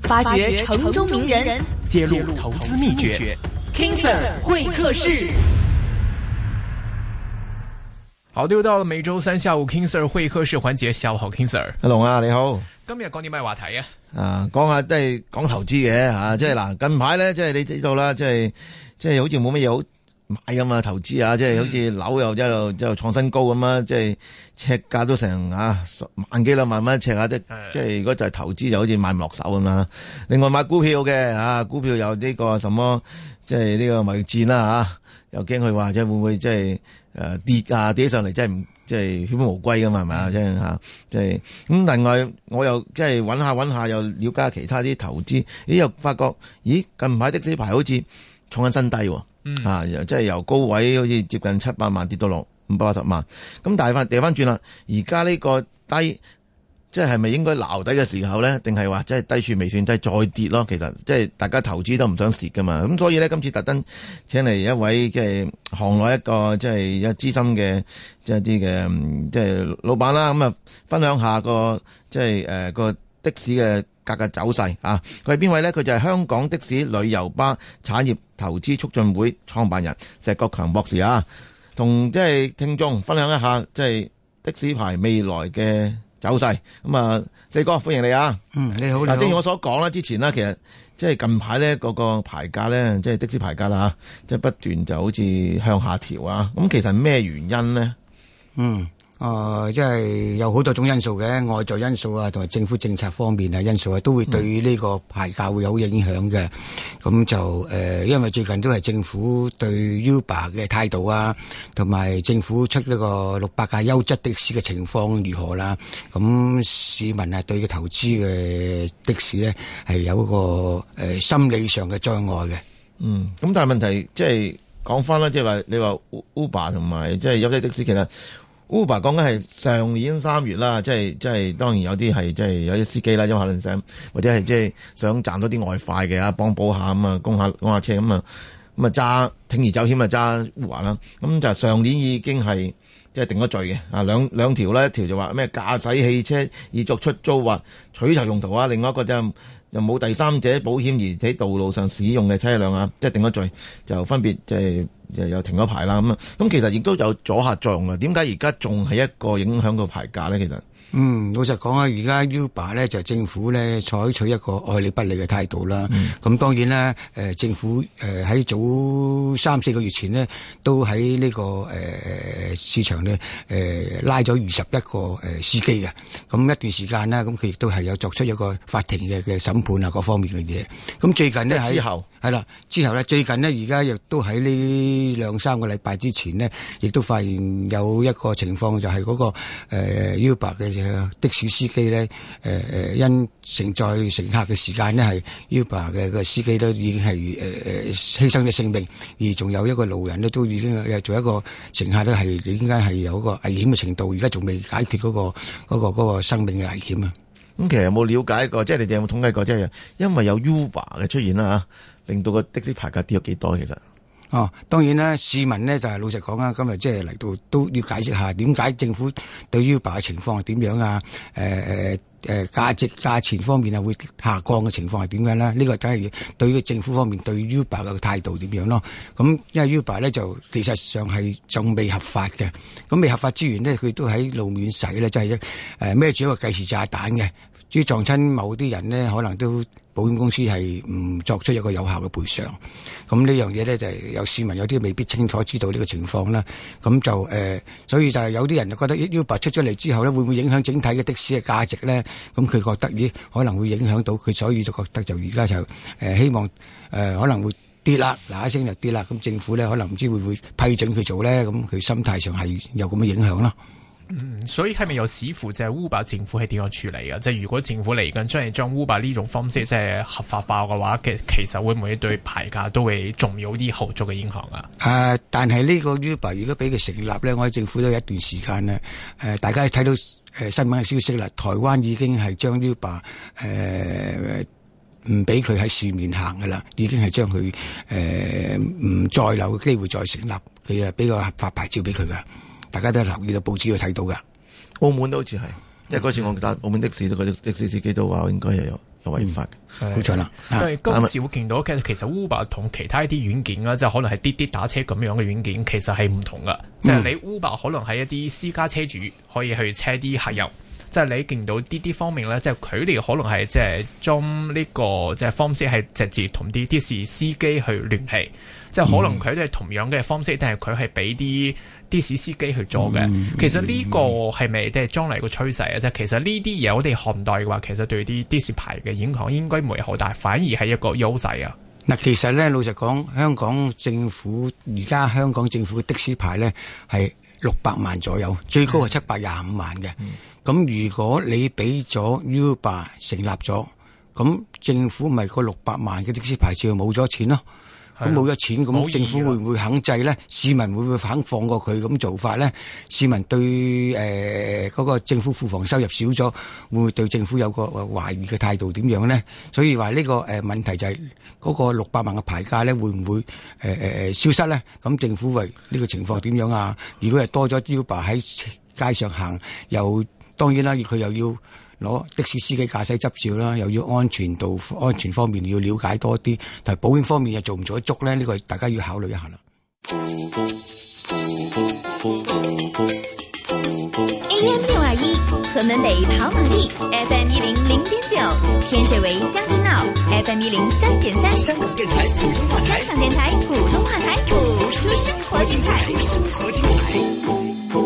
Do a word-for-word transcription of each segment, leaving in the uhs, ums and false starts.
發掘城中名人， 揭露投資秘訣。 King Sir 會客室。 好，又到了每周三下午 King Sir 會客室環節，下午好 King Sir。 阿龍啊，你好。 今日講啲咩話題啊？ 啊，講下都係講投資嘅吓，即係嗱，近排咧，即係你知道啦，即係即係好似冇乜嘢好買咁啊，投資啊，即係好似樓又一路一路創新高咁啊，即係尺價都成啊萬幾兩萬蚊一尺啊，即即係如果就係投資就好似買唔落手咁啦。另外買股票嘅啊，股票有呢個什麼，即係呢個貿易戰啦吓，又驚佢話即係會唔會即係誒跌啊跌起上嚟，即係唔即係血本無歸噶嘛，係咪啊？即係吓，即係咁。另外我又即係揾下揾下，又了解下其他啲投資，咦又發覺咦近排的士牌好似創緊新低喎。嗯，啊，即係由高位好似接近七百萬跌到落五百八十萬，咁但係翻掉翻轉啦，而家呢個低，即係係咪應該撈底嘅時候咧？定係話即係低處未算低，再跌咯？其實即係大家投資都唔想蝕噶嘛，咁所以咧今次特登請嚟一位即係行內一個即係一資深嘅即係啲嘅即係老闆啦，咁啊分享下個即係誒個的士嘅價格走勢啊！佢係邊位咧？佢就係香港的士旅遊巴產業投資促進會創辦人石國強博士啊，同即係聽眾分享一下即係的士牌未來嘅走勢。咁啊，四哥歡迎你啊！ 嗯，你好。嗱， 正如我所講啦，之前呢，其實即係近排咧嗰個牌價咧，即係的士牌價啦，即係不斷就好似向下調啊。咁其實咩原因呢？ 嗯。誒、呃，即係有好多種因素嘅，外在因素啊，同埋政府政策方面啊因素啊，都會對呢個牌價會有影響嘅。咁、嗯、就誒、呃，因為最近都係政府對 Uber 嘅態度啊，同埋政府出呢個六百架優質的士嘅情況如何啦。咁市民啊，對個投資嘅的，的士咧係有一個誒、呃、心理上嘅障礙嘅。 嗯，咁但係問題即係講翻啦，即係話你話 Uber 同埋即係優質的士，其實Uber 講緊係上年三月啦，即係即係當然有啲係即係有啲司機啦，因為可能想或者係即係想賺多啲外快嘅啊，幫補下咁啊，供下供下車咁啊，咁啊揸鋌而走險啊揸 Uber 啦，咁就上年已經係即係定咗罪嘅啊，兩兩條啦，一條就話咩駕駛汽車以作出租或取酬用途啊，另外一個就又冇第三者保險而喺道路上使用嘅車輛啊，即係定咗罪，就分別即係又又停咗牌啦咁啊，咁其實亦都有阻嚇作用啊。點解而家仲係一個影響個牌價咧？其實嗯，老實講啊，而家 Uber 咧就政府咧採取一個愛理不理嘅態度啦。咁、嗯、當然啦，誒、呃、政府誒喺、呃、早三四個月前呢，都喺呢、這個誒、呃、市場咧誒、呃、拉咗二十一個誒、呃、司機嘅。咁一段時間啦，咁佢亦都係有作出一個法庭嘅嘅審判啊，各方面嘅嘢。咁最近呢，喺之後係啦，之後咧最近呢，而家亦都喺呢兩三個禮拜之前呢，亦都發現有一個情況就係嗰、那個誒、呃、Uber 嘅。的士司機咧，誒、呃、誒，因承載乘客嘅時間呢，係 Uber 嘅個司機都已經係誒誒犧牲咗性命，而仲有一個路人呢，都已經誒做一個乘客都係點解係有一個危險嘅程度，而家仲未解決嗰、那個嗰、那個嗰、那個生命嘅危險啊！ 咁其實有冇了解過？即係你哋有冇統計過？即係因為有 Uber 嘅出現啦，吓令到個的士牌價跌咗幾多？其實？ 哦，當然啦，市民呢就係、是、老實講啊，今日即係嚟到都要解釋下點解政府對 Uber 嘅情況係點樣啊？誒誒誒，價值價錢方面啊會下降嘅情況係點樣咧？呢個梗係對於政府方面對 Uber 嘅態度點樣咯？咁因為 Uber 咧就其實上係仲未合法嘅，咁未合法之餘呢，佢都喺路面使咧，就係誒孭住一個計時炸彈嘅，至於撞親某啲人呢，可能都保險公司係唔作出一個有效嘅賠償。咁呢樣嘢咧就係有市民有啲未必清楚知道呢個情況啦。咁就誒、呃，所以就係有啲人就覺得 Uber 出咗嚟之後咧，會唔會影響整體嘅的，的士嘅價值咧？咁佢覺得咦，可能會影響到佢，所以就覺得就而家就誒、呃、希望誒、呃、可能會跌啦，嗱一聲就跌啦。咁政府咧可能唔知會唔會批准佢做咧？咁佢心態上係有咁嘅影響咯。 嗯，所以係咪有視乎就係 Uber 政府係點樣處理嘅？即係如果政府嚟緊將係將 Uber 呢種方式即係合法化嘅話，其其實會唔會對牌價都會仲有啲後續嘅影響啊？ 誒、呃，但係呢個 Uber 如果俾佢成立咧，我哋政府都有一段時間咧，誒、呃，大家睇到誒、呃、新聞嘅消息啦，台灣已經係將 Uber 誒唔俾佢喺市面行噶啦，已經係將佢誒唔再有機會再成立，佢啊俾個合法牌照俾佢噶。大家都留意到報紙去睇到噶， 澳門都好似係，因為嗰次我搭澳門的士，嗰啲的士司機都話應該係有有違法嘅。 冇錯啦。 因為今次會見到嘅其實 Uber 同其他一啲軟件啦，即係可能係滴滴打車咁樣嘅軟件，其實係唔同噶。即係你 Uber 可能係一啲私家車主可以去車啲客人。即係你見到滴滴方面咧，即係佢哋可能係即係將呢個即係方式係直接同啲的士司機去聯繫，即係可能佢都係同樣嘅方式，但係佢係俾啲的士司機去做嘅。 嗯、 其實呢個係咪即係將來個趨勢啊？即係其實呢啲嘢我哋看待嘅話，其實對啲的士牌嘅影響應該唔會好大，反而係一個優勢啊。 嗱，其實咧老實講，香港政府而家香港政府嘅的士牌咧係六百萬左右，最高係七百廿五萬嘅。嗯咁如果你俾咗 Uber 成立咗，咁政府咪個六百萬嘅的，的士牌照冇咗錢咯？咁冇咗錢，咁政府會唔會肯制咧？市民會唔會肯放過佢咁做法咧？市民對誒嗰、呃那個政府庫房收入少咗，會唔會對政府有個懷疑嘅態度點樣咧？所以話呢、這個誒、呃、問題就係嗰個六百萬嘅牌價咧，會唔會誒誒誒消失咧？咁政府為呢個情況點樣啊？如果係多咗 Uber 喺街上行，又當然啦，佢又要攞的士司機駕駛執照啦，又要安全度、安全方面要了解多啲，但係保險方面又做唔做得足咧？呢、這個大家要考慮一下啦。 A M 六二一，屯門北跑馬地 ，F M 一零零點九，天水圍將軍澳 ，F M 一零三點三，香港電台普通話台，香港電台普通話台，播出生活精彩，生活精彩。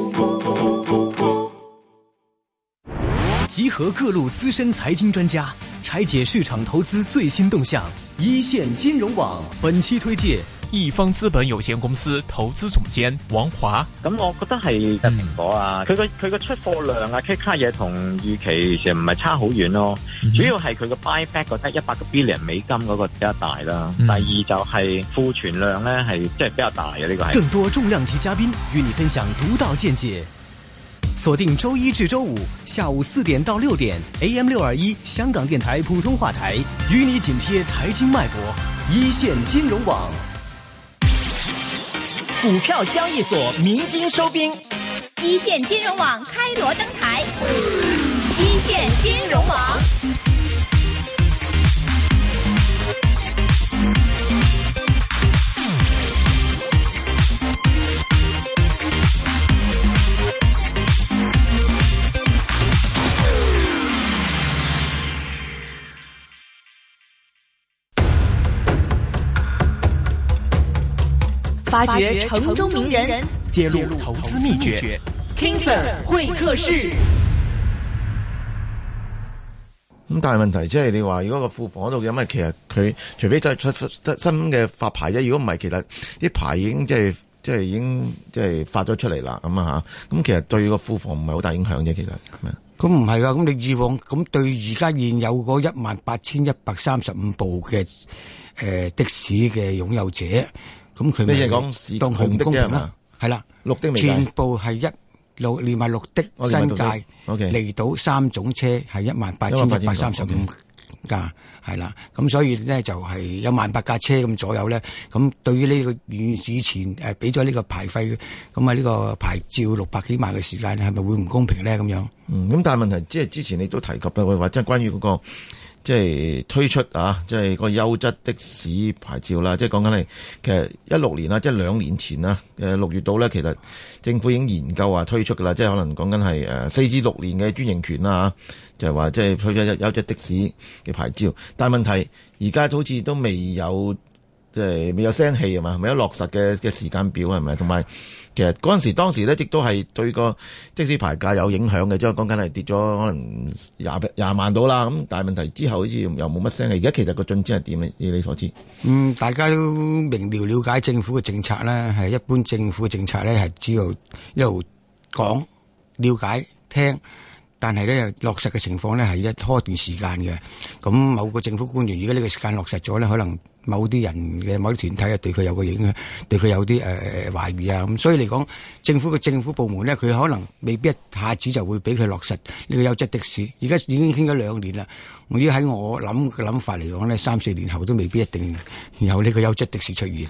集合各路資深財經專家，拆解市場投資最新動向。一線金融網本期推介易方資本有限公司投資總監王華。 咁我覺得係蘋果啊，佢個佢個出貨量啊，K 卡嘢同預期其實唔係差好遠咯。嗯、主要係佢個 buyback 覺得一百個 billion 美金嗰個比較大啦。嗯、第二就係庫存量咧係即係比較大嘅呢、這個係。 更多重量級嘉賓與你分享獨到見解。鎖定周一至周五下午四點到六點 A M 六二一香港電台普通話台，與你緊貼財經脈搏，一線金融網。 股票交易所鳴金收兵，一線金融網開鑼登台，一線金融網。 發掘城中名人， 揭露投資秘訣。 King Sir 會客室。 咁但係問題即係你話，如果個庫房嗰度有乜，其實佢除非再出新嘅發牌啫。如果唔係，其實啲牌已經即係即係已經即係發咗出嚟啦。咁啊吓，咁其實對個庫房唔係好大影響啫。其實咁唔係噶，咁你以往咁對而家現有嗰一萬八千一百三十五部嘅誒、呃、的士嘅擁有者。咁佢咪當佢唔公平啦？係啦，綠的全部係一六連埋綠的新界嚟到三種車係一萬八千一百三十五架，係啦。咁所以咧就係有萬八架車咁左右咧。咁對於呢個現市前誒俾咗呢個牌費，咁啊呢個牌照六百幾萬嘅時間，係咪會唔公平咧？咁樣嗯，咁但係問題即係之前你都提及啦，或者關於嗰個。即係推出啊，即係個優質的士牌照啦。即係講緊係其實一六年啦，即係兩年前啦，誒六月度咧，其實政府已經研究話推出噶啦。即係可能講緊係誒四至六年嘅專營權啦嚇，就係話即係推出優質的士嘅牌照。但係問題而家好似都未有即係未有聲氣啊嘛，未有落實嘅嘅時間表係咪？同埋其實嗰陣時當時咧，亦都係對個的士牌價有影響嘅，即係講緊係跌咗可能廿廿萬到啦。咁但係問題之後好似又冇乜聲氣。而家其實個進展係點咧？以你所知？嗯， 大家都明瞭了解政府嘅政策咧，係一般政府嘅政策咧係只要一路講了解聽。但係咧，落實嘅情況咧係一拖一段時間嘅。咁某個政府官員，如果呢個時間落實咗咧，可能某啲人嘅某啲團體啊，對佢有個影響，對佢有啲誒懷疑啊。咁所以嚟講，政府嘅政府部門咧，佢可能未必一下子就會俾佢落實呢個優質的士。而家已經傾咗兩年啦。我喺我諗嘅諗法嚟講咧，三四年後都未必一定有呢個優質的士出現啊。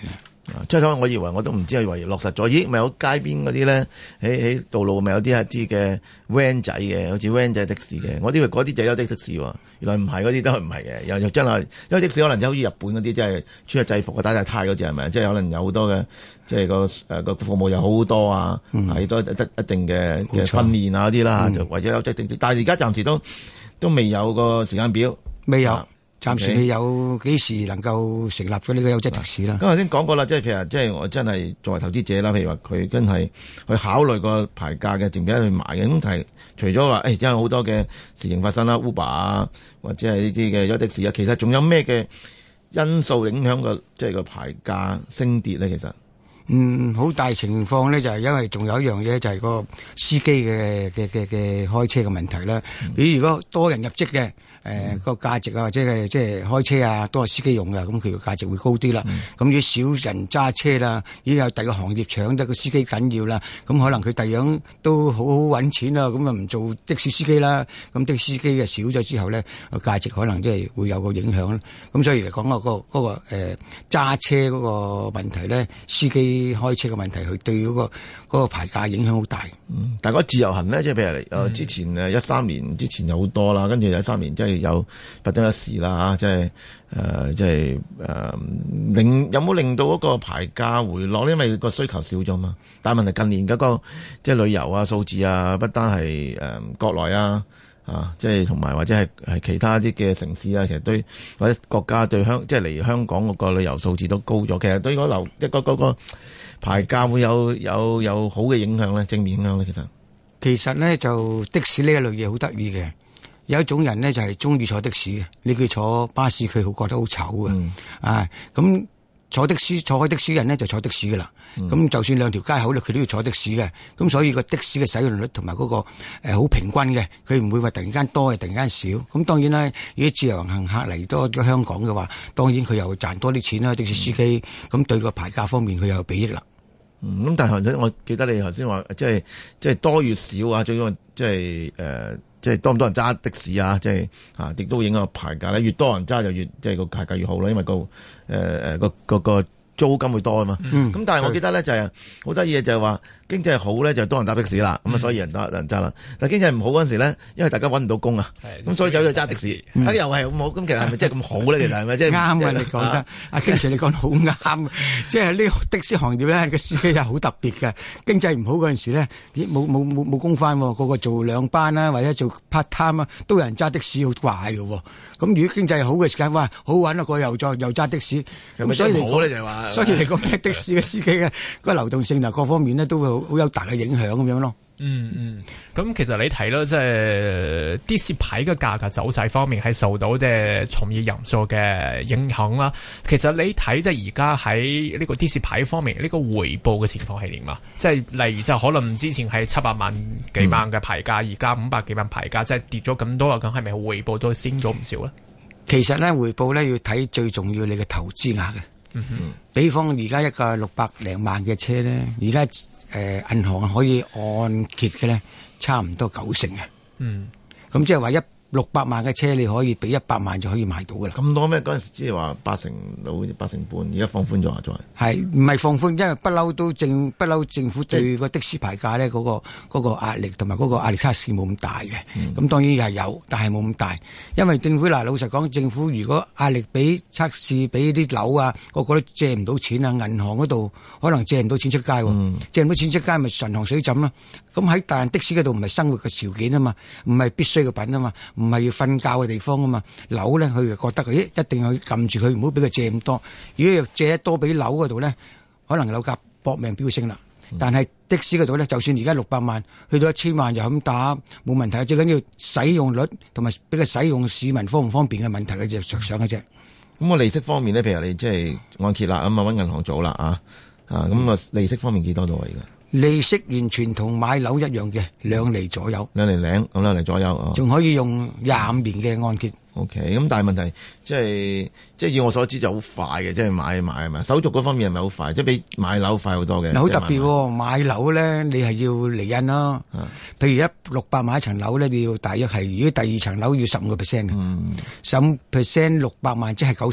即係我以為我都唔知係為落實咗，咦咪有街邊嗰啲咧，喺喺道路咪有啲一啲嘅 van 仔嘅，好似 van 仔的士嘅，我以為嗰啲就有的的士喎，原來唔係，嗰啲都係唔係嘅，又又真係，因為的士可能就好似日本嗰啲，即係穿着制服嘅打晒呔嗰隻係咪？即係可能有好多嘅，即係個誒個服務又好好多啊，係多得一定嘅嘅訓練啊嗰啲啦，就或者有即係，但係而家暫時都都未有個時間表， 未有。啊暫時你有幾時能夠成立咗呢個優質的士啦？ 咁頭先講過啦，即係譬如即係我真係作為投資者啦，譬如話佢真係去考慮個牌價嘅，值唔值得去買嘅？咁係除咗話誒，因為好多嘅事情發生啦 ，Uber 啊，或者係呢啲嘅優的士啊，其實仲有咩嘅因素影響個即係個牌價升跌咧？其實嗯，好大情況咧，就係因為仲有一樣嘢，就係個司機嘅嘅嘅嘅開車嘅問題啦。比如如果多人入職嘅。誒、呃，個價值啊，或者係即係開車啊，都係司機用嘅，咁佢個價值會高啲啦。咁、嗯、如果少人揸車啦，已經有第二個行業搶得個司機緊要啦，咁可能佢第樣都好好揾錢啦，咁啊唔做的士司機啦，咁的士司機嘅少咗之後咧，個價值可能即係會有個影響啦。咁所以嚟講、嗰個、嗰個誒揸、呃、車嗰個問題咧，司機開車嘅問題，佢對嗰、嗰個嗰、嗰個牌價影響好大。 嗯，但係嗰自由行咧，即係譬如誒、嗯、之前誒一三年之前有好多啦，跟住有三年即係。有不得一時啦，即係誒，即係誒，令有冇令到嗰個牌價回落？因為個需求少咗嘛。但係問題近年嗰、那個即係旅遊啊、數字啊，不單係誒、呃、國內啊，啊，即係同埋或者係係其他啲嘅城市啊，其實對或者國家對香即係嚟香港嗰個旅遊數字都高咗。其實對嗰樓一個嗰個牌價會有有有好嘅影響咧，正面影響咧。其實其實咧就的士呢一類嘢好得意嘅。有一種人咧就係中意坐的士嘅，你叫坐巴士佢好覺得好醜嘅，嗯、啊咁坐的士坐開的士人咧就坐的士噶啦，咁、嗯、就算兩條街口咧佢都要坐的士嘅，咁所以個的士嘅使用率同埋嗰個誒好、呃、平均嘅，佢唔會話突然間多，突然間少。咁當然啦，如果自由行客嚟多咗香港嘅話，當然佢又賺多啲錢啦，的士司機，咁、嗯、對個牌價方面佢又有裨益啦。 咁、嗯、但係頭先我記得你頭先話，即係即係多與少啊，最緊要即係誒。即係多唔多人揸的士啊？即係啊，亦都會影響牌價咧。越多人揸就越即係個牌價越好啦，因為、個誒誒個個個租金會多啊嘛。咁、嗯、但係我記得咧就係好得意嘅就係話經濟好咧就多人搭的士啦，咁啊、嗯、所以人多人揸啦。但係經濟唔好嗰陣時咧，因為大家揾唔到工啊，咁、嗯、所以走咗揸的士。嗯、啊又係咁好，咁其實係咪真係咁好咧？其實係咪即係啱啊？你講得阿經 Sir 你講得好啱，即係呢個的士行業咧個司機係好特別嘅。經濟唔好嗰陣時咧，冇冇冇冇工返，個個做兩班啦，或者做 part time 啊，都有人揸的士，好怪嘅。咁如果經濟好嘅時間，哇好玩啊，個又再又揸的士。咁所以嚟講咧就係話，所以嚟講的士嘅司機嘅個流動性啊各方面咧都會好好有大嘅影響咁樣咯。 嗯嗯，咁、嗯、其實你睇咯，即係的士牌嘅價格走勢方面係受到即係從業人數嘅影響啦。其實你睇即係而家喺呢個的士牌方面呢、呢個回報嘅情況係點啊？即係例如就可能之前係七百萬幾萬嘅牌價，而家五百幾萬牌價，即係跌咗咁多啊，咁係咪回報都升咗唔少咧？其實咧回報咧要睇最重要你嘅投資額嘅。嗯哼，比方而家一個六百零萬嘅車咧，而家誒銀行可以按揭嘅咧，差唔多九成嘅。嗯，咁即係話一六百萬嘅車，你可以俾一百萬就可以買到噶啦。咁多咩？嗰陣時即係話八成到八成半，而家放寬咗啊！再係唔係放寬？因為不嬲都政不嬲政府對個的士牌價咧嗰個嗰個壓力同埋嗰個壓力測試冇咁大嘅。咁、嗯、當然係有，但係冇咁大。因為政府嗱，老實講，政府如果壓力俾測試俾啲樓啊，個個都借唔到錢啊，銀行嗰度可能借唔到錢出街，嗯、借唔到錢出街咪神塘水浸啦。咁喺但的士嗰度唔係生活嘅條件啊嘛，唔係必須嘅品啊嘛。唔係要瞓覺嘅地方啊嘛，樓咧佢就覺得佢一定要撳住佢，唔好俾佢借咁多。如果借得多俾樓嗰度咧，可能樓價搏命飆升啦。嗯、但係的士嗰度咧，就算而家六百萬去到一千萬就咁打冇問題，最緊要使用率同埋俾佢使用市民方唔方便嘅問題嘅就着想嘅啫。咁我利息方面咧，譬如你即係按揭啦，咁啊揾銀行做啦啊啊，咁啊利息方面幾多度啊？而家？利息完全同買樓一樣嘅，兩厘左右，兩厘零咁兩厘左右，仲可以用廿五年嘅按揭。O K， 咁但係問題即係即係以我所知就好快嘅，即係買買係咪？手續嗰方面係咪好快？即係比買樓快好多嘅。好特別喎，買樓咧你係要釐印咯。啊、譬如一六百萬一層樓咧，你要大約係如果第二層樓要十五個 percent 嘅，十五 percent 六百萬即係九十萬。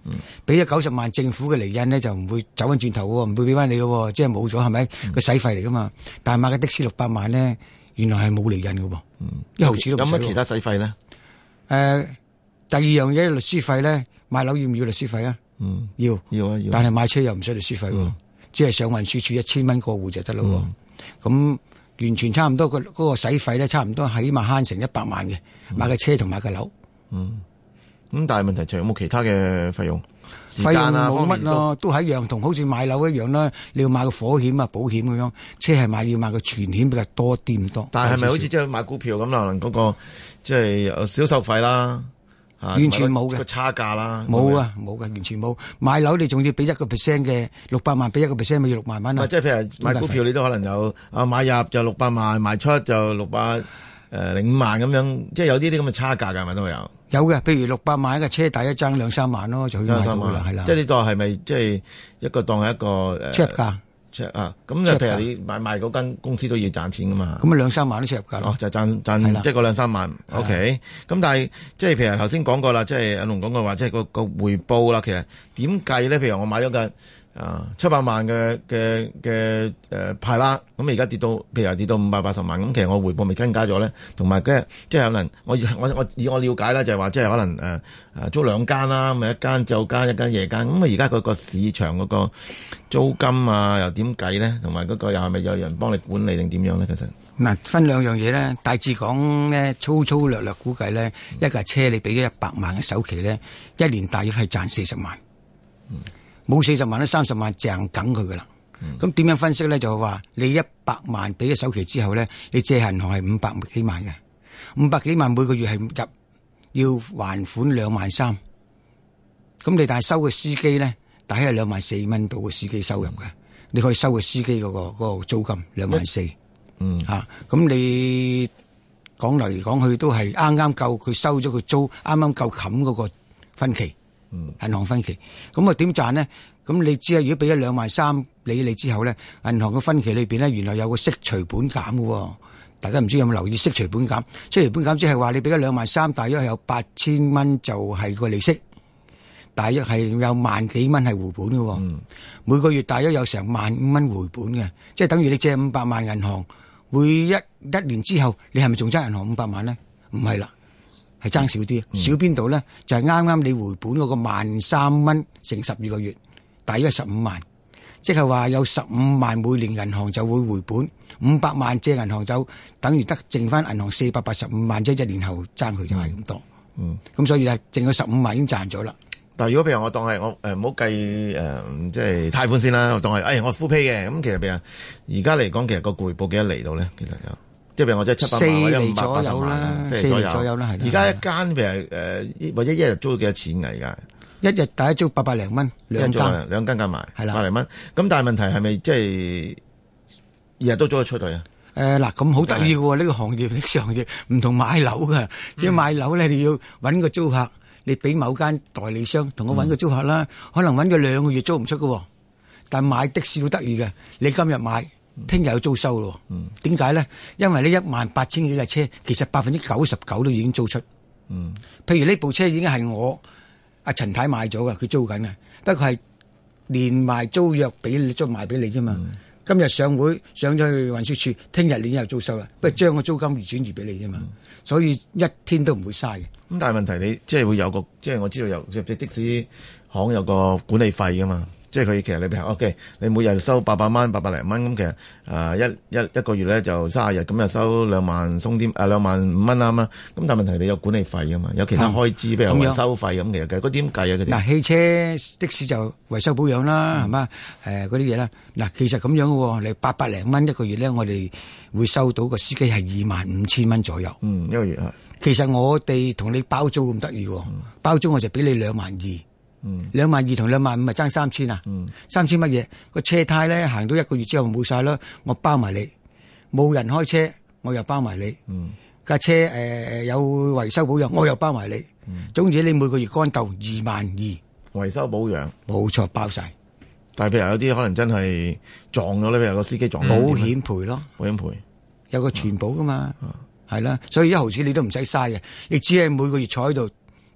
俾咗九十萬政府嘅厘印咧，就唔會走翻轉頭喎，唔會俾翻你嘅，即係冇咗係咪？個使費嚟噶嘛。但係買個的士六百萬咧，原來係冇厘印嘅喎，一毫子都唔使。 有乜其他使費咧？誒、 呃，第二樣嘢律師費咧，買樓要唔要律師費啊？嗯，要要啊要。 但係買車又唔使律師費喎，嗯、只係上運輸署一千蚊過戶就得咯。咁、嗯、完全差唔多個嗰個使費咧，差唔多起碼慳成一百萬嘅，買個車同買個樓。嗯。 咁但係問題仲有冇其他嘅費用？ 費用冇乜咯，都係一樣，同好似買樓一樣啦。你要買個火險啊、保險咁樣，車係買要買個全險比較多啲咁多。 但係係咪好似即係買股票咁可能嗰個即係有銷售費啦？ 完全冇嘅個差價啦， 冇啊冇嘅，完全冇。買樓你仲要俾一個 percent 嘅六百萬，俾一個 percent 咪要六萬蚊啊！ 即係譬如買股票，你都可能有啊買入就六百萬，賣出就六百誒零五萬咁樣，即係有啲啲咁嘅差價㗎，係咪都會有？ 有嘅，譬如六百萬一個車，大一爭兩三萬咯，就可以買到啦，係啦。 即係呢個係咪即係一個當係一個誒？ 出入價， 出啊！咁就譬如你買賣嗰間公司都要賺錢噶嘛？ 咁啊兩三萬都出入價哦，就賺賺即係個兩三萬。O K。咁但係即係譬如頭先講過啦，即係阿龍講過話，即係個個回報啦。其實點計咧？譬如我買咗個啊七百萬嘅嘅嘅誒派啦，咁而家跌到譬如跌到五百八十萬，咁其實我回報咪增加咗咧？同埋嘅即係可能我我我以我了解咧，就係話即係可能誒誒、呃、租兩間啦，咁一間晝間一間夜間，咁啊而家嗰個市場嗰個租金啊又點計咧？同埋嗰個又係咪有人幫你管理定點樣咧？其實嗱，分兩樣嘢咧，大致講咧，粗粗略略估計咧，嗯、一架車你俾咗一百萬嘅首期咧，一年大約係賺四十萬。嗯。冇四十萬咧，三十萬淨梗佢噶啦。咁點、嗯、樣分析咧？就係話你一百萬俾咗首期之後咧，你借銀行係五百幾萬嘅，五百幾萬每個月係入要還款兩萬三。咁你但係收嘅司機咧，大概係兩萬四蚊到嘅司機收入嘅，嗯、你可以收嘅司機嗰、嗰個嗰、嗰個租金兩萬四。嗯，吓咁、啊、你講嚟講去都係啱啱夠佢收咗個租，啱啱夠冚嗰個分期。嗯，銀行分期，咁啊點賺呢？咁你知啊，如果俾咗兩萬三理你之後咧，銀行嘅分期裏邊咧，原來有個息除本減嘅，大家唔知有冇留意息除本減？息除本減即係話你俾咗兩萬三，大約係有八千蚊就係個利息，大約係有萬幾蚊係回本嘅，嗯、每個月大約有成萬五蚊回本嘅，即係等於你借五百萬銀行，會一一年之後你係咪仲爭銀行五百萬咧？唔係啦。係爭少啲，少邊度咧？就係啱啱你回本嗰個萬三蚊乘十二個月，大約十五萬，即係話有十五萬每年銀行就會回本，五百萬借銀行就等於得剩翻銀行四百八十五萬，即係一年後爭佢就係咁多。嗯，咁所以係剩咗十五萬已經賺咗啦。 但係如果譬如我當係我誒唔好計誒即係貸款先啦，我當係誒、哎、我 full pay 嘅，咁其實譬如而家嚟講，其實個回報幾多厘到咧？其實有。即係譬如我即係七百萬或者五百八十萬，四厘左右啦。而家一間譬如誒，或者一日租幾多錢㗎？而家一日大家租八百零蚊，兩間兩間加埋係啦， 百零蚊。咁但係問題係咪即係日日都租得出去啊？ 誒嗱，咁好得意嘅喎，呢個行業呢個行業唔同買樓嘅。如果買樓咧，你要揾個租客，你俾某間代理商同我揾個租客啦，可能揾咗兩個月租唔出嘅。但係買的士好得意嘅，你今日買。聽日有租收咯，點解咧？因為呢一萬八千幾架車，其實百分之九十九都已經租出。嗯，譬如呢部車已經係我阿陳太買咗噶，佢租緊嘅，不過係連埋租約俾你，租賣俾你啫嘛。嗯、今日上會上咗去運輸署，聽日你已經有租收啦，不過將個租金而轉移俾你啫嘛。嗯、所以一天都唔會嘥嘅。咁但係問題你即係會有個，即係我知道有即係的士行有個管理費噶嘛。即係佢其實你譬如 OK，你每日收八百蚊、八百零蚊咁，其實啊、呃、一一一個月咧就卅日，咁就收兩萬鬆啲啊兩萬五蚊啱啦。咁但係問題你有管理費噶嘛，有其他開支，譬、嗯、如維修費咁，其實嘅嗰啲點計啊？嗰啲嗱，汽車的士就維修保養啦，係嘛、嗯？誒嗰啲嘢啦。嗱，其實咁樣嘅喎，你八百零蚊一個月咧，我哋會收到個司機係二萬五千蚊左右。 嗯，一個月啊。 其實我哋同你包租咁得意喎，嗯、包租我就俾你兩萬二。嗯，兩萬二同兩萬五咪爭三千啊？嗯，三千乜嘢？個車胎咧行到一個月之後冇晒啦，我包埋你。冇人開車，我又包埋你。嗯，架車誒、呃、有維修保養，我又包埋你。嗯，總之你每個月乾豆二萬二，維修保養冇錯包晒。 但係譬如有啲可能真係撞咗咧，譬如個司機撞咗， 保險賠咯， 保險賠有個全保噶嘛，係啦、嗯，所以一毫子你都唔使嘥嘅，你只係每個月坐喺度。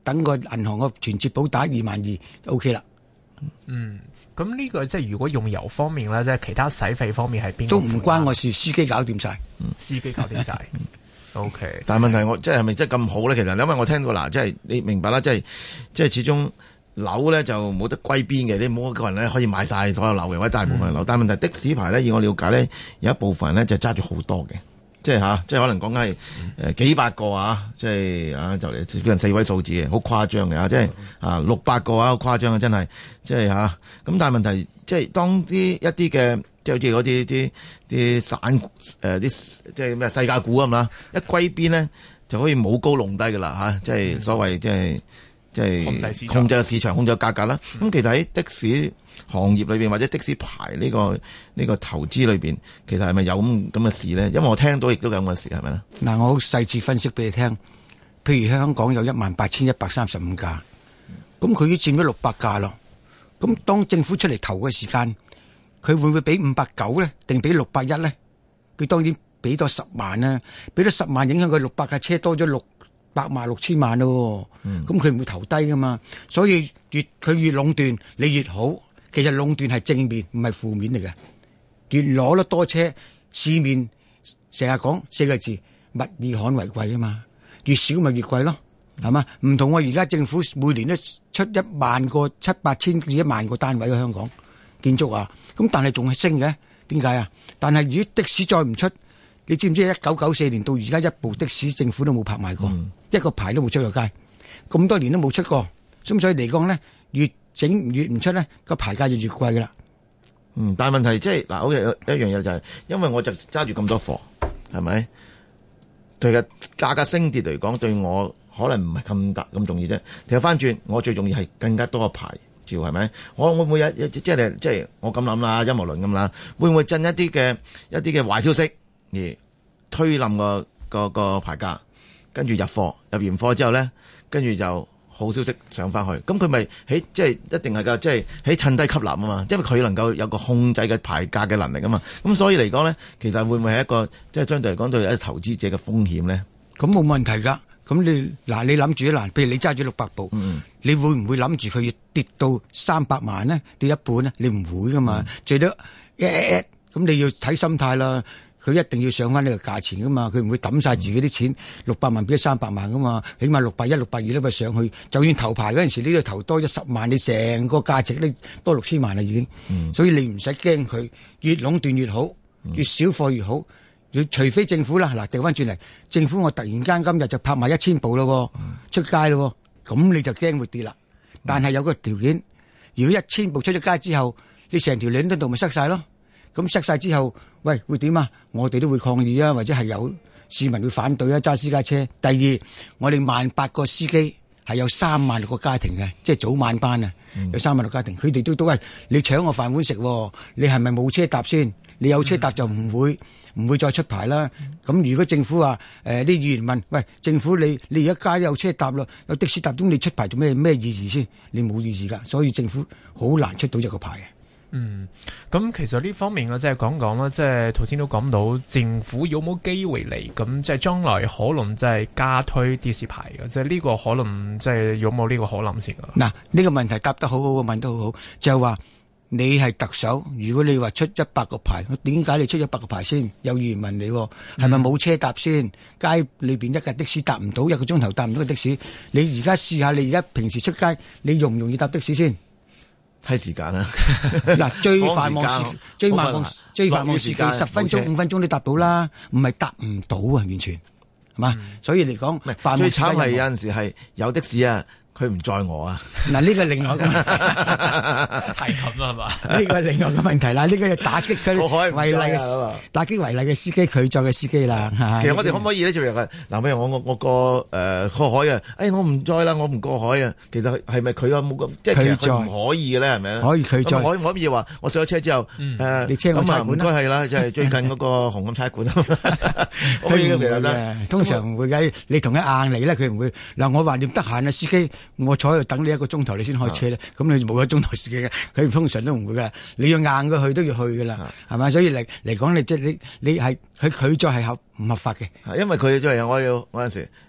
等個銀行個存折簿打二萬二 OK 啦。 嗯，咁呢個即係如果用油方面咧，即係其他使費方面係邊個？ 都唔關我事，司機搞掂晒， 司機搞掂晒。O K， 但係問題我即係係咪真係咁好咧？其實因為我聽到嗱，即係你明白啦，即係即係始終樓咧就冇得歸邊嘅，你冇一個人咧可以買晒所有樓嘅，或者大部分樓。嗯、但係問題的士牌咧，以我了解咧，有一部分人咧就揸住好多嘅，即係吓，即係可能講緊係誒幾百個啊，即係啊就嚟叫人四位數字嘅，好誇張嘅啊，即係啊六百個啊，好誇張啊，真係即係吓。咁但係問題即係當啲一啲嘅。即係好似嗰啲啲啲散誒啲即係咩世界股咁啦，一歸邊咧就可以冇高弄低噶啦吓，即係所謂即係即係控制市場、控制市場、控制價格啦。咁、嗯、其實喺的士行業裏邊或者的士牌呢、這個呢、這個投資裏邊，其實係咪有咁咁嘅事咧？因為我聽到亦都有咁嘅事，係咪咧？嗱， 我好細緻分析俾你聽。譬如香港有一萬八千一百三十五架，咁佢已經佔咗六百架咯。咁當政府出嚟投嘅時間，佢會唔會俾五百九咧，定俾六百一咧？佢當然俾多十萬啦，俾多十萬影響佢六百架車多咗六百萬六千萬咯。咁佢唔會投低噶嘛，所以越佢越壟斷，你越好。其實壟斷係正面，唔係負面嚟嘅。越攞得多車，市面成日講四個字：物以罕為貴啊嘛。越少咪越貴咯，係嘛？唔同我而家政府每年都出一萬個七八千至一萬個單位喺香港。建築啊，咁但係仲係升嘅，點解啊？但係如果的士再唔出，你知唔知一九九四年到而家一部的士政府都冇拍賣過，嗯、一個牌都冇出過街，咁多年都冇出過，咁所以嚟講咧，越整越唔出咧，個牌價就越貴噶啦。 嗯，但係問題即係嗱，好似一樣嘢就係、是，因為我就揸住咁多貨，係咪？其實價格升跌嚟講，對我可能唔係咁大咁重要啫。其實翻轉，我最重要係更加多個牌。係咪？我會唔會有即係即係我咁諗啦，陰謀論咁啦，會唔會震一啲嘅一啲嘅壞消息而推冧個個個牌價，跟住入貨，入完貨之後咧，跟住就好消息上翻去，咁佢咪喺即係一定係噶，即係喺趁低吸納啊嘛，因為佢能夠有個控制嘅牌價嘅能力啊嘛，咁所以嚟講咧，其實會唔會係一個即係相對嚟講對一投資者嘅風險咧？ 咁冇問題噶。咁你嗱，你諗住嗱，譬如你揸住六百部，嗯、你會唔會諗住佢要跌到三百萬呢？跌一半呢？你唔會噶嘛，嗯、最多一咁你要睇心態啦。佢一定要上翻呢個價錢噶嘛，佢唔會抌晒自己啲錢六百、嗯、萬變咗三百萬噶嘛，起碼六百一、六百二咧咪上去。就算頭牌嗰陣時，你都投多咗十萬，你成個價值咧多六千萬啦已經。嗯、所以你唔使驚佢，越壟斷越好，越少貨越好。除非政府啦，嗱調翻轉嚟，政府我突然間今日就拍埋一千部咯，嗯、出街咯，咁你就驚會跌啦。但係有個條件，如果一千部出咗街之後，你成條領度咪塞晒咯？咁塞晒之後，喂會點啊？我哋都會抗議啊，或者係有市民會反對啊，揸私家車。第二，我哋萬八個司機係有三萬六個家庭嘅，即係早晚班啊，嗯、有三萬六個家庭，佢哋都都喂你搶我飯碗食，你係咪冇車搭先？你有車搭就唔會。嗯唔會再出牌啦。咁如果政府話誒啲議員問，喂，政府你你而家街有車搭咯，有的士搭，咁你出牌做咩咩意義先？你冇意義噶，所以政府好難出到一個牌嘅。 嗯，咁其實呢方面咧，即係講講啦，即係頭先都講到政府有冇機會嚟，咁即係將來可能即係加推的士牌嘅，即係呢個可能即係有冇呢個可能性啊？嗱， 呢個問題答得好好，問得好好，就係話。你係特首，如果你話出一百個牌，點解你出一百個牌先？有議員問你，係咪冇車搭先？街裏邊一架的士搭唔到，一個鐘頭搭唔到個的士。你而家試下，你而家平時出街，你容唔容易搭的士先？ 睇時間啦。 嗱，最繁忙時，最繁忙最繁忙時間，十分鐘、五分鐘都搭到啦，唔係搭唔到啊，完全係嘛？嗯、所以嚟講， 最慘係有陣時係有的士啊。佢唔載我啊！ 嗱，呢個另外一個問題太近啦，係嘛？ 呢個係另外一個問題啦，呢個要打擊佢違例嘅打擊違例嘅司機，佢載嘅司機啦。 其實我哋可唔可以咧做樣嘅？嗱，譬如我我我過誒過海啊，誒我唔載啦，我唔過海啊。其實係咪佢有冇咁？即係其實佢唔可以嘅咧，係咪？ 可以佢載。 可可唔可以話我上咗車之後誒？ 你車我差館啦。 唔該係啦，就係最近嗰個紅磡差館啊。 佢唔會嘅，通常唔會嘅。你同佢硬嚟咧，佢唔會。嗱，我話你得閒啊，司機。我坐喺度等你一個鐘頭，你先開車咧，咁、啊、你冇一個鐘頭時間嘅，佢通常都唔會噶。你要硬佢去都要去噶啦，係咪、啊？所以嚟嚟講，你即係你你係佢拒載係合唔合法嘅？ 因為佢即係我要嗰陣時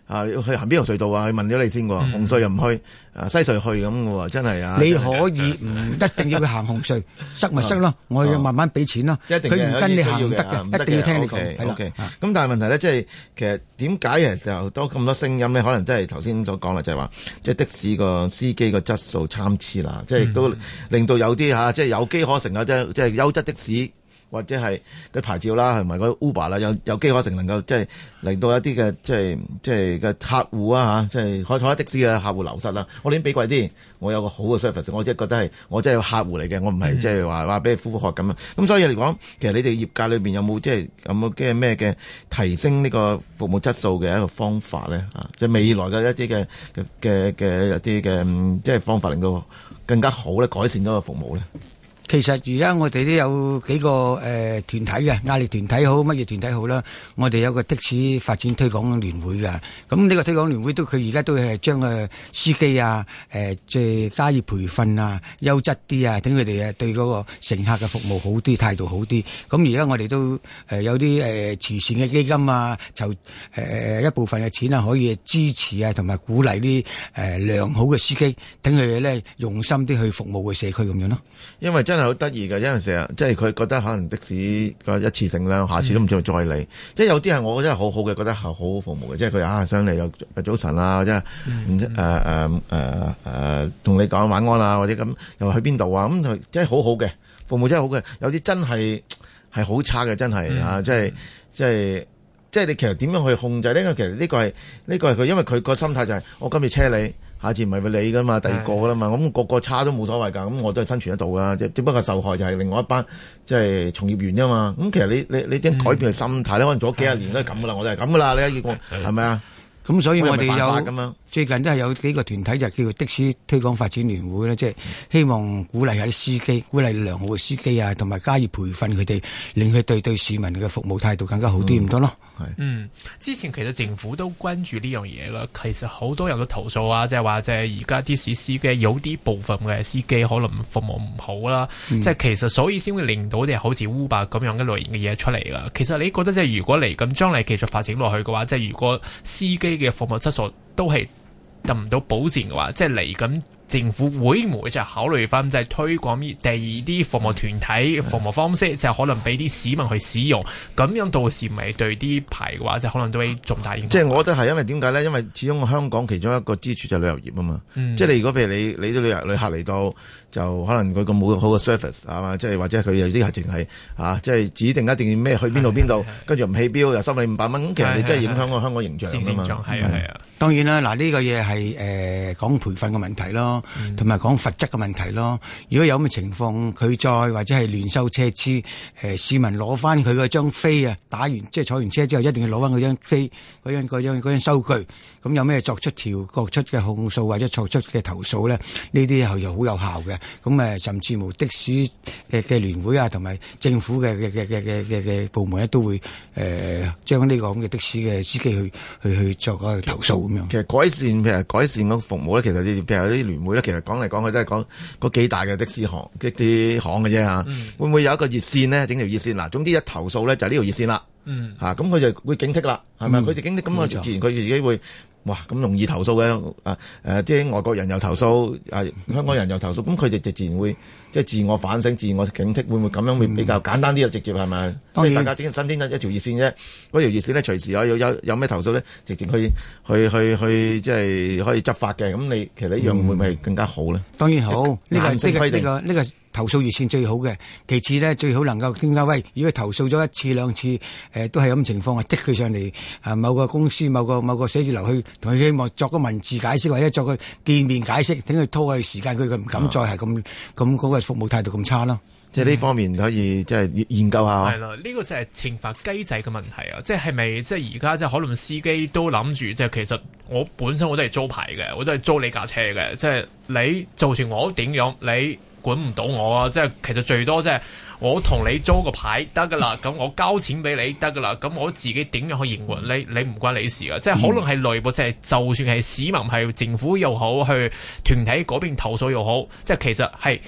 啊，去行邊條隧道啊？去問咗你先喎，紅隧又唔去，啊西隧去咁嘅喎，真係啊！ 你可以唔一定要佢行紅隧，塞咪塞咯，我要慢慢俾錢咯。佢唔跟你行唔得嘅，一定要聽你講。係啦， 咁但係問題咧，即係其實點解其實就多咁多聲音咧？可能真係頭先所講啦，就係話即係的士個司機個質素參差啦，即係亦都令到有啲嚇，即係有機可乘啊，即係即係優質的士。或者係個牌照啦，同埋個 Uber 啦，有有機可乘能夠即係令到一啲嘅即係即係嘅客戶啊嚇，即係開開的士嘅客戶流失啦。我寧願俾貴啲，我有個好嘅 service，我即係覺得係我真係個客戶嚟嘅，我唔係即係話話俾你呼呼喝咁啊。咁所以嚟講，其實你哋業界裏邊有冇即係有冇嘅咩嘅提升呢個服務質素嘅一個方法咧？啊，即係未來嘅一啲嘅嘅嘅一啲嘅即係方法，令到更加好咧，改善咗個服務咧。 其實而家我哋都有幾個誒、呃、團體嘅，壓力團體好，乜嘢團體好啦。我哋有個的士發展推廣聯會嘅，咁呢個推廣聯會都佢而家都係將誒司機啊，誒即係加以培訓啊，優質啲啊，等佢哋誒對嗰個乘客嘅服務好啲，態度好啲。咁而家我哋都誒有啲誒慈善嘅基金啊，籌誒、呃、一部分嘅錢啊，可以支持啊，同埋鼓勵啲誒良好嘅司機，等佢哋咧用心啲去服務嘅社區咁樣咯。 因為真係好得意嘅，因為成日即係佢覺得可能的士個一次性啦，下次都唔再再嚟。嗯、即係有啲係我覺得係好好嘅，覺得係好好服務嘅。即係佢啊上嚟又早晨啊，即係唔知誒誒誒誒同你講晚安啊，或者咁又話去邊度啊，咁就真係好好嘅服務，真係好嘅。有啲真係係好差嘅，真係、嗯、啊！即係即係即係你其實點樣去控制呢？因為其實呢個係呢、呢個係佢，因為佢個心態就係、是、我今次車你。下次唔係佢你噶嘛，第二個噶啦嘛，咁、那個個差都冇所謂㗎，咁我都係生存得到㗎，即只不過受害就係另外一班即係從業員啫嘛。咁其實你你你點改變佢心態咧？可能做咗幾十年都係咁噶啦，我哋係咁噶啦，你一個係咪啊？ 咁所以我哋有最近都係有幾個團體就叫做的士推廣發展聯會咧，即係希望鼓勵下啲司機，鼓勵良好嘅司機啊，同埋加以培訓佢哋，令佢對對市民嘅服務態度更加好啲，唔得咯。係嗯，之前其實政府都關注呢樣嘢啦。其實好多人都投訴啊，即係話即係而家的士司機有啲部分嘅司機可能服務唔好啦，即係、嗯、其實所以先會令到啲好似 Uber 咁樣嘅類型嘅嘢出嚟啦。其實你覺得即係如果嚟咁將來繼續發展落去嘅話，即係如果司機嘅服務質素都係得唔到保證嘅話，即係嚟緊政府會唔會就考慮翻，就係推廣第二啲服務團體服務方式，就可能俾啲市民去使用，咁樣到時咪對啲牌嘅話，就可能都會重大影響。 即係我覺得係因為點解咧？因為始終香港其中一個支柱就係旅遊業啊嘛。嗯、即係你如果譬如你你啲旅遊旅客嚟到，就可能佢咁冇好嘅 service 係嘛？即係或者佢有啲係淨係啊，即係指定一定要咩去邊度邊度，跟住唔起標又收你五百蚊，咁其實你真係影響個香港形象啊嘛。 係啊係啊。 當然啦，嗱、這、呢個嘢係誒講培訓嘅問題咯，同埋講罰則嘅問題咯。如果有咁嘅情況，佢再或者係亂收車資，誒、呃、市民攞翻佢嗰張飛啊，打完即係坐完車之後，一定要攞翻嗰張飛，嗰張嗰張嗰張收據。咁有咩作出調作出嘅控訴或者作出嘅投訴咧？呢啲係又好有效嘅。咁誒，甚至乎的士嘅嘅聯會啊，同埋政府嘅嘅嘅嘅嘅嘅嘅部門咧，都會誒將呢個咁嘅的士嘅司機去去去作個投訴咁樣。 其實改善譬如改善個服務咧，其實你譬如有啲聯會咧，其實講嚟講去都係講嗰幾大嘅的，的士行啲啲行嘅啫嚇。嗯、會唔會有一個熱線呢？整條熱線嗱，總之一投訴咧就係呢條熱線啦。嗯，嚇咁佢就會警惕啦，係咪？佢、嗯、就警惕，咁佢自然佢自己會。哇！咁容易投訴嘅啊誒，啲、呃、外國人又投訴，啊香港人又投訴，咁佢哋就自然會即係自我反省、自我警惕，會唔會咁樣會比較簡單啲啊？直接係咪？即係大家整新添一一條熱線啫，嗰條熱線咧隨時有有有有咩投訴咧，直接去去去去即係可以執法嘅。咁你其實呢樣會唔會更加好咧？ 當然好，呢、這個呢、這個呢、這個呢、這個投訴熱線最好嘅。其次咧，最好能夠點解？喂，如果投訴咗一次兩次，誒、呃、都係咁情況啊，即佢上嚟啊某個公司、某個某個寫字樓去同佢希望作個文字解釋，或者作個見面解釋，等佢拖去時間，佢佢唔敢再係咁咁嗰個服務態度咁差咯。 即係呢方面可以即係研究下。 係啦，呢、這個就係懲罰機制嘅問題啊！即係係咪即係而家即係可能司機都諗住，即係其實我本身我都係租牌嘅，我都係租你架車嘅。即係你就算我點樣，你管唔到我啊！即係其實最多即係我同你租個牌得噶啦，咁我交錢俾你得噶啦，咁我自己點樣去營運，你你唔關你事噶。即係可能係內部，即係就算係市民係政府又好，去團體嗰邊投訴又好，即係其實係。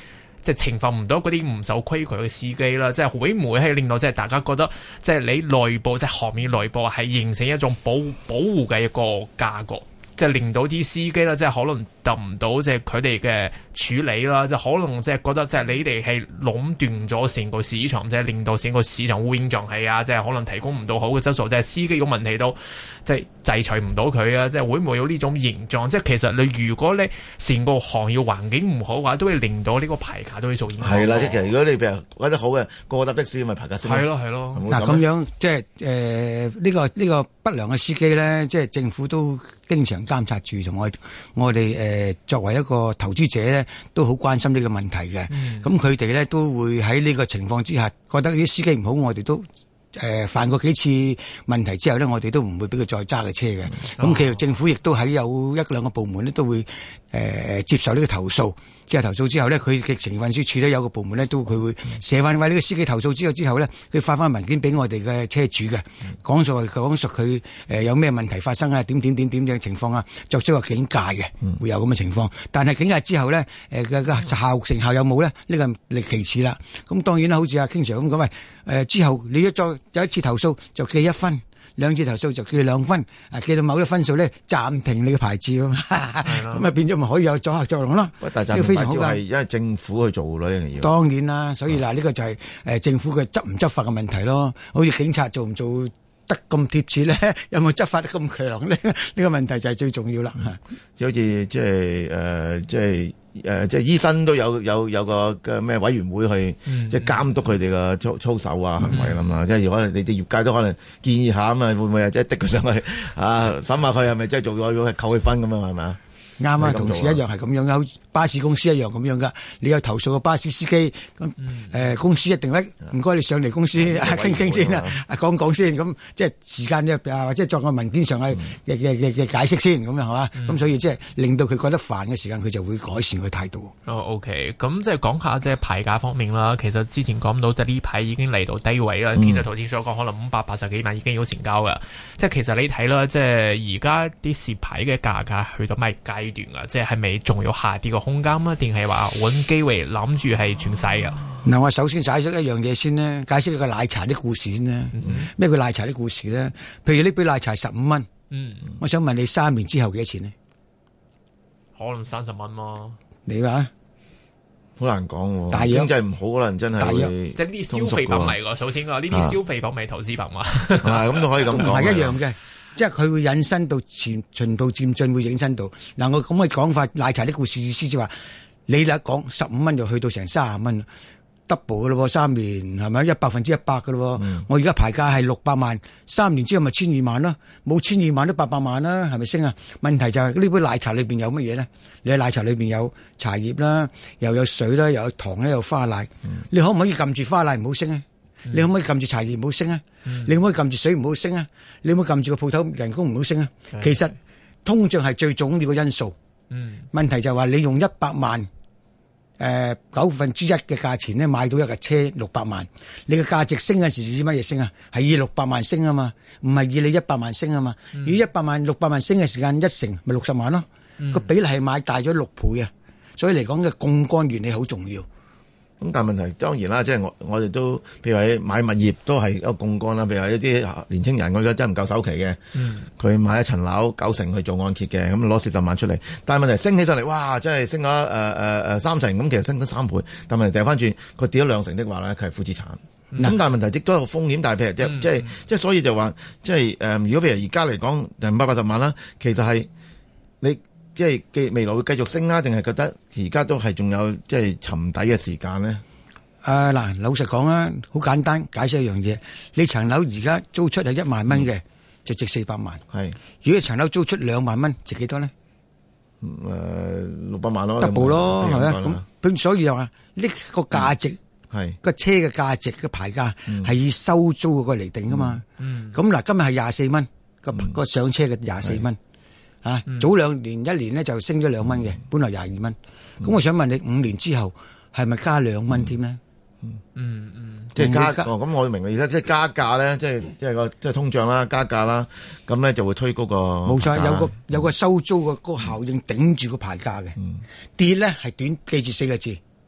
即係懲罰唔到嗰啲唔守規矩嘅司機啦，即係會唔會係令到即係大家覺得即係你內部即係行業內部係形成一種保保護嘅一個架構，即係令到啲司機啦，即係可能得唔到即係佢哋嘅處理啦，即係可能即係覺得即係你哋係壟斷咗成個市場，即係令到成個市場烏煙瘴氣啊，即係可能提供唔到好嘅質素，即係司機有問題都即係制裁唔到佢啊，即係會唔會有呢種現狀？即係其實你如果你成個行業環境唔好嘅話，都會令到呢個牌價都會受影響。 係啦，即係其實如果你譬如覺得好嘅，個個搭的士咪牌價升。 係咯係咯。 嗱咁樣即係誒呢個呢個不良嘅司機咧，即係政府都經常監察住，同我我哋誒作為一個投資者咧，都好關心呢個問題嘅。咁佢哋咧都會喺呢個情況之下，覺得啲司機唔好，我哋都誒、呃、犯過幾次問題之後咧，我哋都唔會俾佢再揸嘅車嘅。咁其實政府亦都喺有一兩個部門咧，都會誒、呃、接受呢個投訴。即係投訴之後咧，佢嘅城運輸處咧有個部門咧，都佢會寫翻為呢個司機投訴之後之後咧，佢發翻文件俾我哋嘅車主嘅，講述講述佢誒有咩問題發生啊，點點點點嘅情況啊，作出個警戒嘅，會有咁嘅情況。但係警戒之後咧，誒嘅嘅效成效有冇咧？呢個係其次啦。咁當然啦，好似阿 King Sir咁講，喂誒、呃、之後你一再有一次投訴就記一分。兩次投訴就記兩分，啊記到某啲分數咧暫停你嘅牌照，咁啊變咗咪可以有阻嚇作用咯。 但係非常好係因為政府去做咯，呢樣嘢。當然啦，所以嗱呢個就係誒政府嘅執唔執法嘅問題咯。好似警察做唔做得咁貼切咧，有冇執法得咁強咧？呢個問題就係最重要啦。 就好似即係誒，即係誒，即係醫生都有有有個嘅咩委員會去即係監督佢哋嘅操操守啊行為啦嘛。即係如果你哋業界都可能建議下啊嘛，會唔會即係滴佢上去啊審下佢係咪真係做咗要扣佢分咁樣係咪啊？啱啊，同時一樣係咁樣噶，巴士公司一樣咁樣噶。你有投訴個巴士司機，咁誒、嗯呃、公司一定咧，唔該你上嚟公司傾傾先啦，講講先。咁即係時間咧，或者作個文件上嘅嘅嘅嘅解釋先，咁樣係嘛？咁、嗯、所以即係令到佢覺得煩嘅時間，佢就會改善佢態度。 哦 OK，咁即係講下即係牌價方面啦。其實之前講到即係呢排已經嚟到低位啦。其實頭先所講可能五百八十幾萬已經有成交噶。即係其實你睇啦，即係而家啲蝕牌嘅價格去到咩階段啊？即係係咪仲有下跌嘅空間啊？定係話揾機會諗住係轉勢啊？ 嗱，我首先解釋一樣嘢先咧，解釋一個奶茶啲故事先咧。咩叫奶茶啲故事咧？譬如呢杯奶茶十五蚊，嗯，我想問你三年之後幾多錢呢？ 可能三十蚊咯。你話？ 好難講， 大約經濟唔好可能真係大約即係呢啲消費品嚟㗎。首先啊，呢啲消費品咪投資品嘛。 係咁都可以咁講。 唔係一樣嘅。即係佢會引申到前循序漸進，會引申到嗱。我咁嘅講法，奶茶啲故事意思就話，你嚟講十五蚊就去到成三十蚊，double 嘅咯，三年係咪一百分之一百嘅咯？嗯、我而家牌價係六百萬，三年之後咪千二萬啦，冇千二萬都八百萬啦，係咪升啊？問題就係呢杯奶茶裏邊有乜嘢咧？你喺奶茶裏邊有茶葉啦，又有水啦，又有糖咧，有花奶，嗯、你可唔可以撳住花奶唔好升啊？你可唔可以撳住茶葉唔好升啊？嗯、你可唔可以撳住水唔好升啊？你可唔可以撳住個鋪頭人工唔好升啊？嗯、其實通脹係最重要嘅因素。嗯、問題就係話你用一百萬誒九分之一嘅價錢咧買到一架車六百萬，你嘅價值升嘅時以乜嘢升啊？係以六百萬升啊嘛，唔係以你一百萬升啊嘛。嗯、如果一百萬六百萬升嘅時間一成咪六十萬咯，個、嗯、比例係買大咗六倍啊。所以嚟講嘅槓桿原理好重要。 咁但係問題當然啦，即係我我哋都譬如話買物業都係一個槓桿啦。譬如話一啲年青人，我覺得真係唔夠首期嘅，佢、嗯、買一層樓九成去做按揭嘅，咁攞四十萬出嚟。但係問題升起上嚟，哇！真係升咗誒誒誒三成，咁其實升咗三倍。但係問題掉翻轉，佢跌咗兩成的話咧，佢係負資產。咁、嗯、但係問題亦都有個風險。但係譬如即係即係即係，所以就話即係誒、呃，如果譬如而家嚟講五百八十萬啦，其實係你。即係既未來會繼續升啊？定係覺得而家都係仲有即係沉底嘅時間呢？ 誒嗱、呃，老實講啊，好簡單解釋一樣嘢。你層樓而家租出係一萬蚊嘅，嗯、就值四百萬。係是，如果層樓租出兩萬蚊，值幾多呢？ 誒六百萬咯 ，double咯，係咪啊？咁所以又話呢個價值係個、嗯、車嘅價值嘅牌價係以收租嗰個嚟定噶嘛？咁嗱、嗯，今日係廿四蚊個個上車嘅廿四蚊。啊！嗯、早兩年一年咧就升咗兩蚊嘅，本來廿二蚊。咁、嗯、我想問你，五年之後係咪加兩蚊添呢？ 嗯嗯嗯， 即係加哦。咁我明嘅意思，即係加價咧，即係即係個即係通脹啦，加價啦，咁咧就會推高個。冇錯， 有個有個收租個個效應頂住個牌價嘅。嗯、跌咧係短，記住四個字，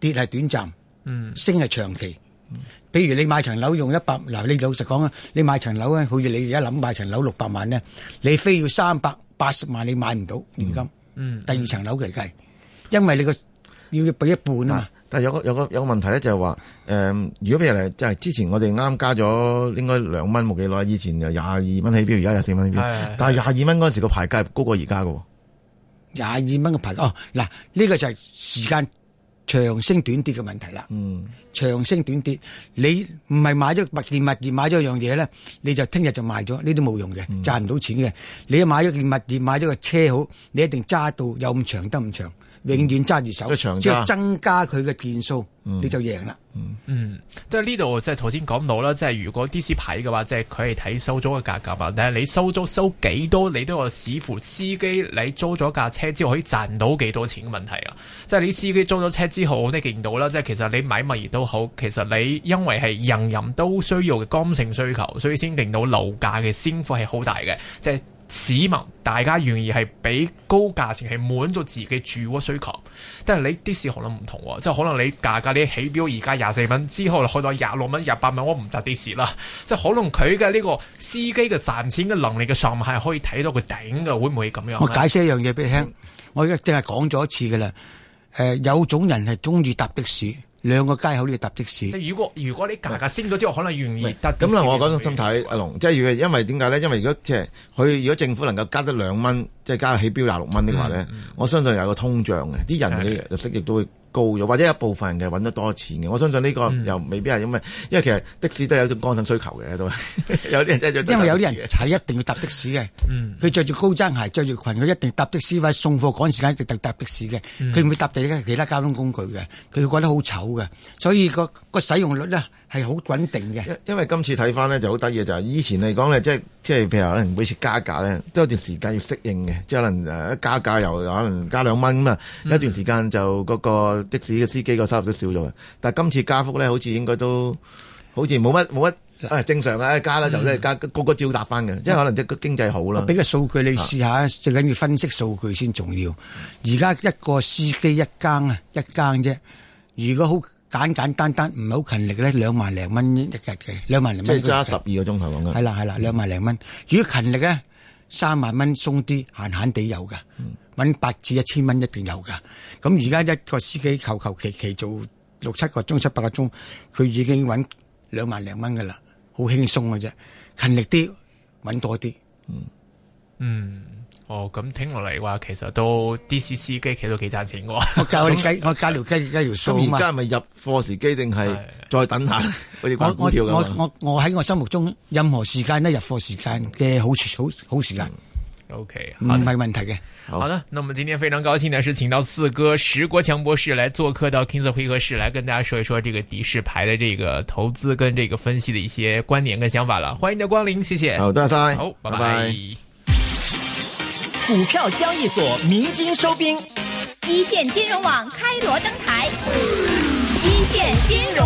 跌係短暫， 嗯， 升係長期。譬如你買層樓用一百，嗱，你老實講啊，你買層樓咧，好似你而家諗買層樓六百萬咧，你非要三百八十萬你買唔到現金。 嗯， 第二層樓嚟計，因為你個要俾一半啊嘛。 但係有個有個有個問題咧，就係話誒，如果譬如嚟，即係之前我哋啱加咗應該兩蚊冇幾耐，以前就廿二蚊起標，而家廿四蚊起標。但係廿二蚊嗰陣時個牌價高過而家嘅。 廿二蚊嘅牌價哦，嗱，呢個就係時間長升短跌嘅問題啦。嗯，長升短跌，你唔係買咗物件物業買咗樣嘢咧，你就聽日就賣咗，呢啲冇用嘅，賺唔到錢嘅。你買咗件物業買咗個車好，你一定揸到有咁長得咁長。永遠揸住手，即係增加佢嘅件數，嗯、你就贏啦。 嗯，即係呢度即係頭先講到啦，即係如果 D C 牌嘅話，即係佢係睇收租嘅價格嘛。但係你收租收幾多，你都要視乎司機你租咗架車之後可以賺到幾多錢嘅問題啊。即係你司機租咗車之後，我哋見到啦，即係其實你買物業都好，其實你因為係人人都需要嘅剛性需求，所以先令到樓價嘅升幅係好大嘅，即係。市民大家願意係俾高價錢係滿足自己住屋需求，但係你的士可能唔同，即係可能你價格你起標而家廿四蚊，之後去到廿六蚊、廿八蚊，我唔搭的士啦。即係可能佢嘅呢個司機嘅賺錢嘅能力嘅上限係可以睇到佢頂嘅，會唔會咁樣？ 我解釋一樣嘢俾你聽，嗯、我而家淨係講咗一次嘅啦。誒、呃，有種人係中意搭的士。兩個街口都要搭的士。 如果如果你價格升咗之後，可能願意搭的士。 咁啦，我嗰種心態，阿龍，即係因為點解咧？因為如果即係佢如果政府能夠加得兩蚊，即係加起標廿六蚊的話咧，嗯嗯、我相信有個通脹嘅，啲人嘅入息亦都會高咗，或者一部分人嘅揾得多錢嘅。我相信呢個又未必係因為，因為其實的士都有一種剛性需求嘅，都有啲人真係因為有啲人係一定要搭的士嘅，佢着住高踭鞋、着住裙，佢一定搭的士，或者送貨趕時間一定搭的士嘅，佢唔會搭第其他交通工具嘅，佢覺得好醜嘅，所以個個使用率咧係好穩定嘅。 因因為今次睇翻咧就好得意嘅就係以前嚟講咧，即係即係譬如可能每次加價咧都有段時間要適應嘅，即係可能誒一加價又可能加兩蚊咁啊，一段時間就嗰個的士嘅司機個收入都少咗嘅。但係今次加幅咧，好似應該都好似冇乜冇乜誒正常嘅加啦，就咧加個個照搭翻嘅，即係可能即係個經濟好啦。 俾個數據你試下，最緊要分析數據先重要。而家一個司機一更啊，一更啫。如果好簡簡單單唔係好勤力咧，兩萬零蚊一日嘅，兩萬零蚊。 即係揸十二個鐘頭講緊。 係啦係啦，兩萬零蚊。如果勤力咧，三萬蚊鬆啲，閒閒地有噶，搵八至一千蚊一定有噶。咁而家一個司機求求其其做六七個鐘、七八個鐘，佢已經搵兩萬零蚊噶啦，好輕鬆嘅啫。勤力啲，搵多啲。嗯。 嗯。哦，咁聽落嚟話，其實都的士司機其實都幾賺錢嘅。 我教你計，我教條計計條數啊嘛。 而家係咪入貨時機定係再等下？好似我我我我我喺我心目中，任何時間都入貨時間嘅好好好時間。 O K， 唔係問題嘅。 好的，那我們今天非常高興的是，請到四哥石國強博士來做客到 King Sir 會客室，來跟大家說一說這個的士牌的這個投資跟這個分析的一些觀點跟想法了。歡迎你的光臨，謝謝。 好，多謝晒。 好，拜拜。 拜拜。 股票交易所鳴金收兵， 一線金融網開鑼登台，一線金融